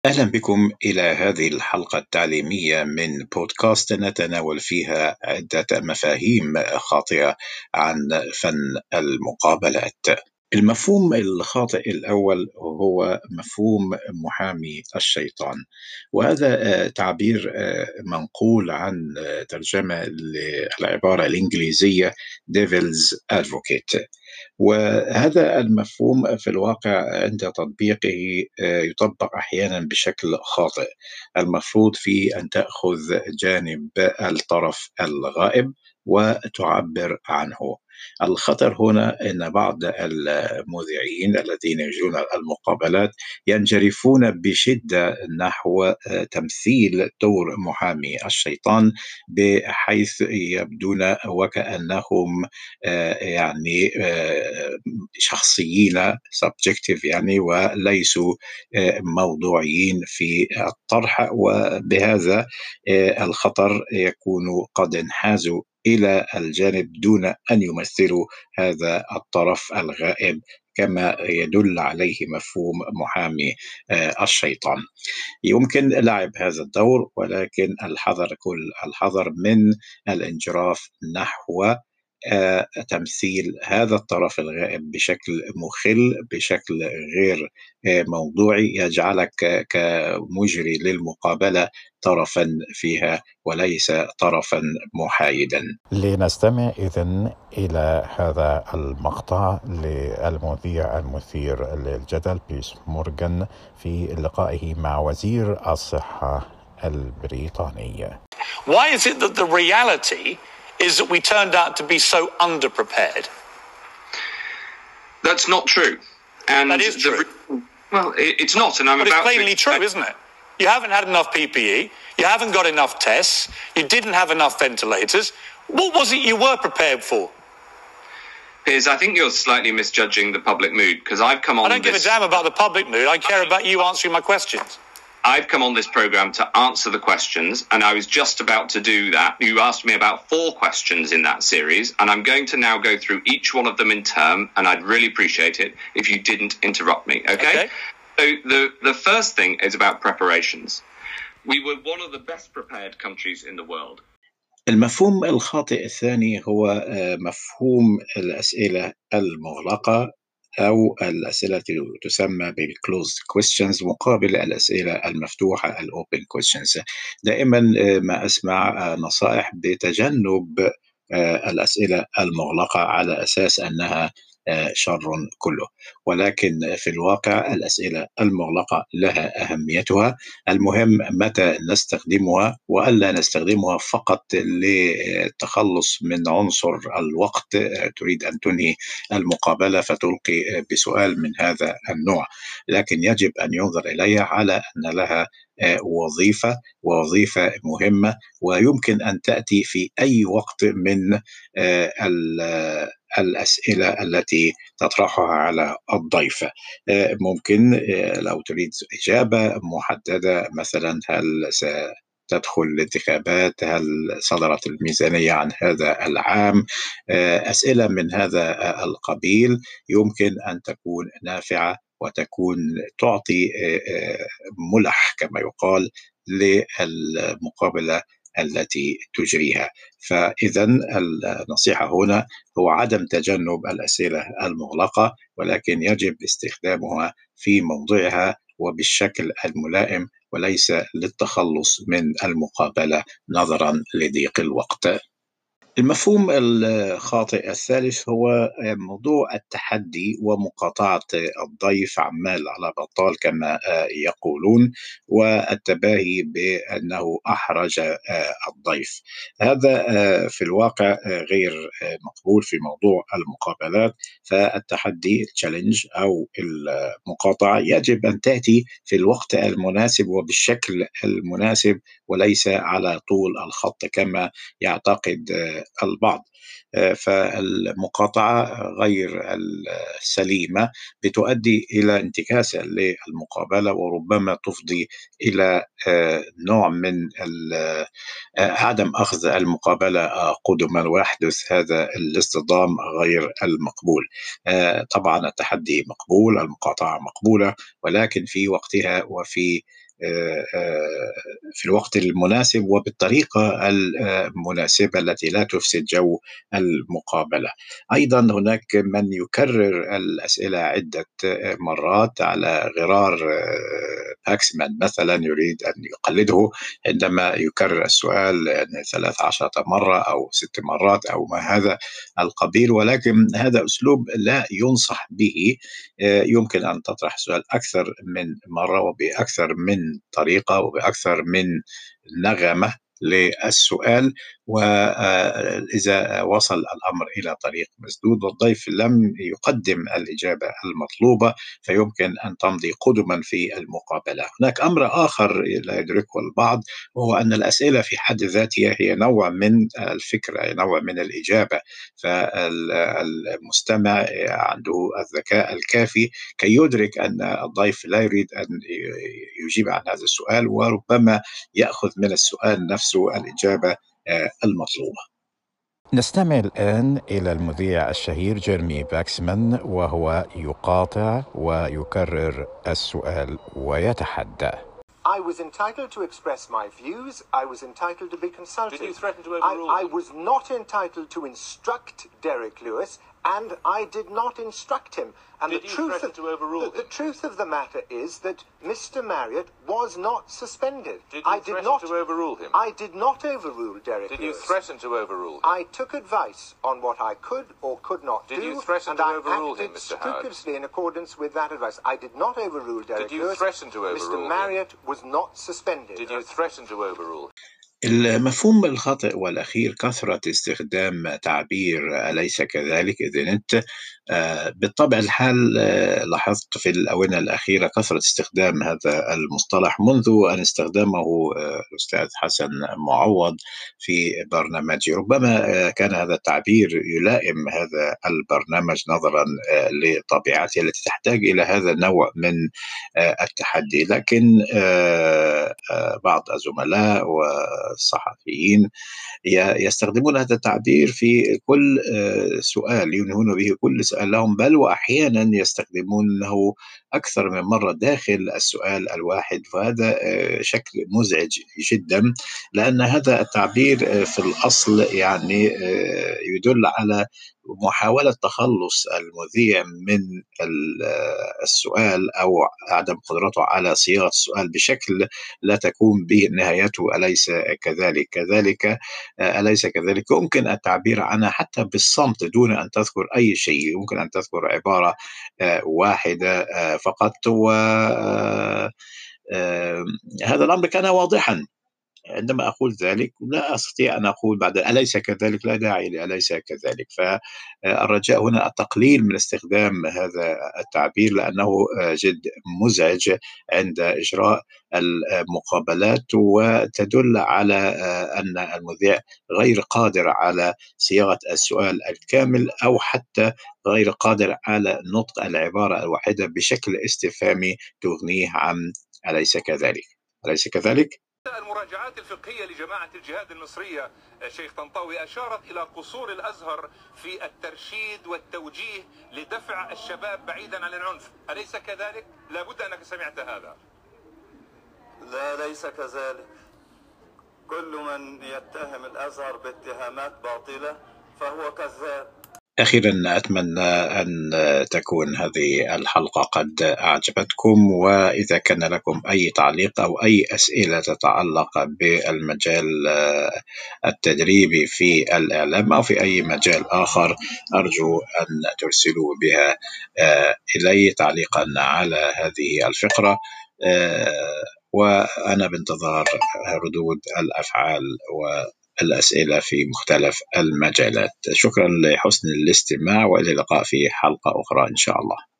أهلا بكم إلى هذه الحلقة التعليمية من بودكاست نتناول فيها عدة مفاهيم خاطئة عن فن المقابلات. المفهوم الخاطئ الأول هو مفهوم محامي الشيطان، وهذا تعبير منقول عن ترجمة للعبارة الإنجليزية Devil's Advocate. وهذا المفهوم في الواقع عند تطبيقه يطبق أحيانا بشكل خاطئ. المفروض فيه أن تأخذ جانب الطرف الغائب وتعبر عنه. الخطر هنا أن بعض المذيعين الذين يجرون المقابلات ينجرفون بشدة نحو تمثيل دور محامي الشيطان، بحيث يبدون وكأنهم يعني شخصيين subjective، يعني وليسوا موضوعيين في الطرح، وبهذا الخطر يكون قد انحازوا إلى الجانب دون أن يمثلوا هذا الطرف الغائب كما يدل عليه مفهوم محامي الشيطان. يمكن لعب هذا الدور، ولكن كل الحذر من الانجراف نحو تمثيل هذا الطرف الغائب بشكل مخل، بشكل غير موضوعي، يجعلك كمجري للمقابلة طرفا فيها وليس طرفا محايدا. لنستمع إذن إلى هذا المقطع للمذيع المثير للجدل بيرس مورغان في لقائه مع وزير الصحة البريطاني. Why is it that the reality is that we turned out to be so underprepared? That's not true. And that is true. Well, it's not, and but it's plainly true, isn't it? You haven't had enough PPE, you haven't got enough tests, you didn't have enough ventilators. What was it you were prepared for? Piers, I think you're slightly misjudging the public mood, because I've come on I don't give a damn about the public mood. I care about you answering my questions. I've come on this program to answer the questions, and I was just about to do that. You asked me about 4 questions in that series, and I'm going to now go through each one of them in turn, and I'd really appreciate it if you didn't interrupt me, okay? So the first thing is about preparations. We were one of the best prepared countries in the world. المفهوم الخاطئ الثاني هو مفهوم الأسئلة المغلقة، أو الأسئلة التي تسمى بالclosed questions مقابل الأسئلة المفتوحة الopen questions. دائما ما أسمع نصائح بتجنب الأسئلة المغلقة على أساس أنها شر كله، ولكن في الواقع الأسئلة المغلقة لها أهميتها. المهم متى نستخدمها، وألا نستخدمها فقط للتخلص من عنصر الوقت. تريد أن تنهي المقابلة فتلقي بسؤال من هذا النوع، لكن يجب أن ينظر إليها على أن لها وظيفة مهمة، ويمكن أن تأتي في أي وقت من الأسئلة التي تطرحها على الضيف. ممكن لو تريد إجابة محددة، مثلا هل ستدخل الانتخابات، هل صدرت الميزانية عن هذا العام، أسئلة من هذا القبيل يمكن أن تكون نافعة وتكون تعطي ملح كما يقال للمقابلة التي تجريها. فإذا النصيحة هنا هو عدم تجنب الأسئلة المغلقة، ولكن يجب استخدامها في موضعها وبالشكل الملائم، وليس للتخلص من المقابلة نظرا لضيق الوقت. المفهوم الخاطئ الثالث هو موضوع التحدي ومقاطعة الضيف عمال على بطال كما يقولون، والتباهي بأنه أحرج الضيف. هذا في الواقع غير مقبول في موضوع المقابلات. فالتحدي التشالنج أو المقاطعة يجب أن تأتي في الوقت المناسب وبالشكل المناسب، وليس على طول الخط كما يعتقد البعض. فالمقاطعة غير السليمة بتؤدي إلى انتكاسة للمقابلة، وربما تفضي إلى نوع من عدم أخذ المقابلة قدما، ويحدث هذا الاصطدام غير المقبول. طبعا التحدي مقبول، المقاطعة مقبولة، ولكن في وقتها وفي في الوقت المناسب وبالطريقة المناسبة التي لا تفسد جو المقابلة. أيضا هناك من يكرر الأسئلة عدة مرات على غرار باكسمان مثلا يريد أن يقلده عندما يكرر السؤال 13 مرة أو 6 مرات أو ما هذا القبيل، ولكن هذا أسلوب لا ينصح به. يمكن أن تطرح سؤال أكثر من مرة وبأكثر من طريقة وبأكثر من نغمة للسؤال، وإذا وصل الأمر إلى طريق مسدود والضيف لم يقدم الإجابة المطلوبة فيمكن أن تمضي قدما في المقابلة. هناك أمر آخر لا يدركه البعض، وهو أن الأسئلة في حد ذاتها هي نوع من الفكرة، نوع من الإجابة، فالمستمع عنده الذكاء الكافي كي يدرك أن الضيف لا يريد أن يجيب عن هذا السؤال، وربما يأخذ من السؤال نفسه الإجابة المطلوبة. نستمع الآن إلى المذيع الشهير جيرمي باكسمان وهو يقاطع ويكرر السؤال ويتحدى. I was entitled to express my views. I was entitled to be consulted. Did you threaten to overrule I was not entitled to instruct Derek Lewis, and I did not instruct him. And Did you threaten to overrule him? The truth of the matter is that Mr. Marriott was not suspended. Did you threaten to overrule him? I did not overrule Derek Lewis. Did you threaten to overrule him? I took advice on what I could or could not do. Did you threaten to overrule him, Mr. Howard? Scrupulously in accordance with that advice. I did not overrule Derek Lewis. Did you threaten to overrule Mr. Marriott was not suspended. Did you threaten to overrule him? المفهوم الخاطئ والأخير كثرة استخدام تعبير أليس كذلك إذن أنت. بالطبع الحال لاحظت في الآونة الأخيرة كثرة استخدام هذا المصطلح منذ أن استخدمه الأستاذ حسن معوض في برنامجه. ربما كان هذا التعبير يلائم هذا البرنامج نظرا لطبيعته التي تحتاج إلى هذا النوع من التحدي، لكن بعض الزملاء والصحفيين يستخدمون هذا التعبير في كل سؤال ينهون به كل سؤال لهم، بل وأحيانا يستخدمونه أكثر من مرة داخل السؤال الواحد، وهذا شكل مزعج جدا، لأن هذا التعبير في الأصل يعني يدل على محاولة تخلص المذيع من السؤال أو عدم قدرته على صياغة السؤال بشكل لا تكون به نهايته أليس كذلك. أليس كذلك يمكن التعبير عنها حتى بالصمت دون أن تذكر أي شيء، يمكن أن تذكر عبارة واحدة فقط، وهذا الأمر كان واضحا. عندما أقول ذلك لا أستطيع أن أقول بعد أليس كذلك، لا داعي لأليس كذلك. فالرجاء هنا التقليل من استخدام هذا التعبير لأنه جد مزعج عند إجراء المقابلات، وتدل على أن المذيع غير قادر على صياغة السؤال الكامل أو حتى غير قادر على نطق العبارة الواحدة بشكل استفهامي تغنيه عن أليس كذلك. أليس كذلك؟ المراجعات الفقهية لجماعة الجهاد المصرية شيخ طنطاوي أشارت إلى قصور الأزهر في الترشيد والتوجيه لدفع الشباب بعيدا عن العنف، أليس كذلك؟ لابد أنك سمعت هذا. لا ليس كذلك. كل من يتهم الأزهر باتهامات باطلة فهو كذاب. أخيرا أتمنى أن تكون هذه الحلقة قد أعجبتكم، وإذا كان لكم أي تعليق أو أي أسئلة تتعلق بالمجال التدريبي في الإعلام أو في أي مجال آخر أرجو أن ترسلوا بها إلي تعليقا على هذه الفقرة، وأنا بانتظار ردود الأفعال والأسئلة في مختلف المجالات. شكرا لحسن الاستماع، وإلى اللقاء في حلقة أخرى إن شاء الله.